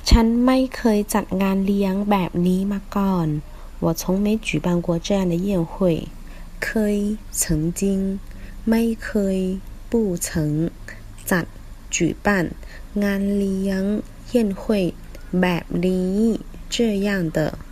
ฉันไม่เคยจัดงานเลี้ยงแบบนี้มาก่อน我从没举办过这样的宴会เคย曾经ไม่เคย不曾จัด举办งานเลี้ยง宴会แบบนี้这样的